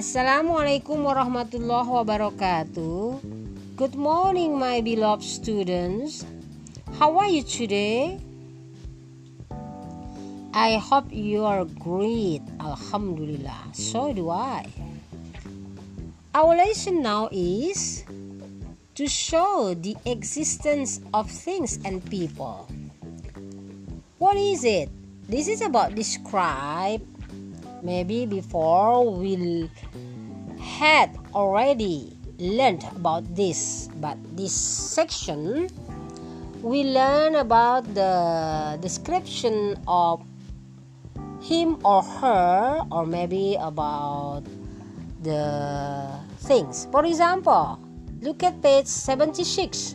Assalamualaikum warahmatullahi wabarakatuh. Good morning, my beloved students. How are you today? I hope you are great. Alhamdulillah. So do I. Our lesson now is to show the existence of things and people. What is it? This is about describe. Maybe before we had already learned about this, but this section we learn about the description of him or her, or maybe about the things. For example, look at page 76.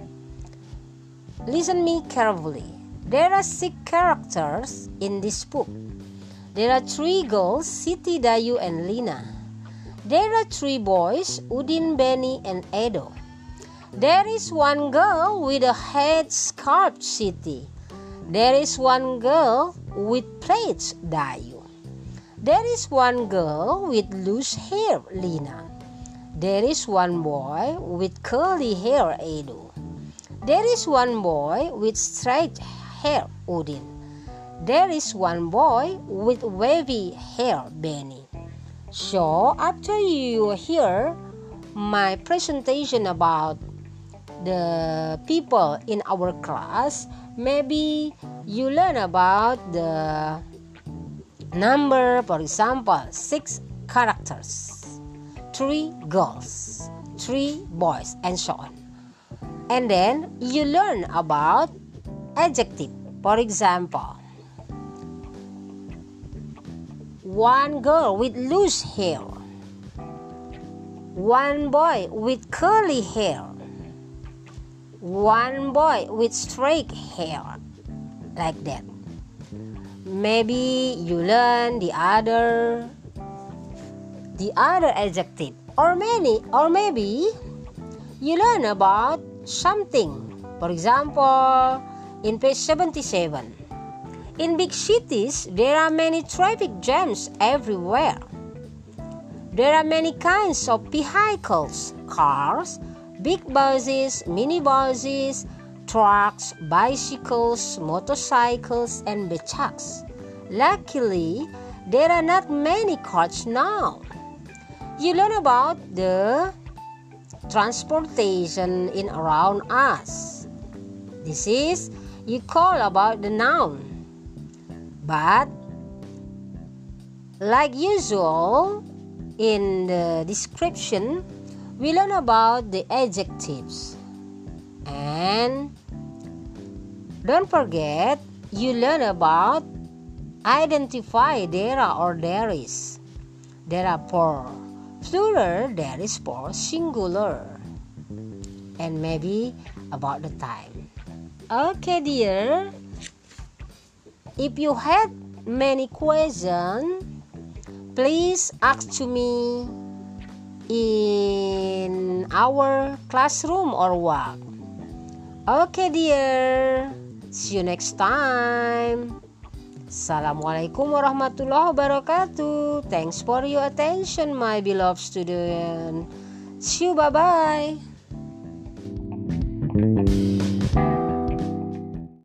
Listen me carefully. There are 6 characters in this book. There are 3 girls, Siti, Dayu, and Lina. There are 3 boys, Udin, Benny, and Edo. There is 1 girl with a head scarf, Siti. There is 1 girl with plaits, Dayu. There is 1 girl with loose hair, Lina. There is 1 boy with curly hair, Edo. There is 1 boy with straight hair, Udin. There is 1 boy with wavy hair, Benny. So after you hear my presentation about the people in our class, maybe you learn about the number, for example, 6 characters, 3 girls, 3 boys, and so on. And then you learn about adjective. For example, 1 girl with loose hair, 1 boy with curly hair, 1 boy with straight hair, like that. Maybe you learn the other adjective, or maybe you learn about something. For example, in page 77. In big cities, there are many traffic jams everywhere. There are many kinds of vehicles, cars, big buses, minibuses, trucks, bicycles, motorcycles, and becaks. Luckily, there are not many cars now. You learn about the transportation in around us. This is you call about the noun. But like usual in the description, we learn about the adjectives. And don't forget, you learn about identify there are or there is. There are for plural, there is for singular. And maybe about the time. Okay, dear. If you had many questions, please ask to me in our classroom or what. Okay, dear. See you next time. Assalamualaikum warahmatullahi wabarakatuh. Thanks for your attention, my beloved student. See you. Bye-bye.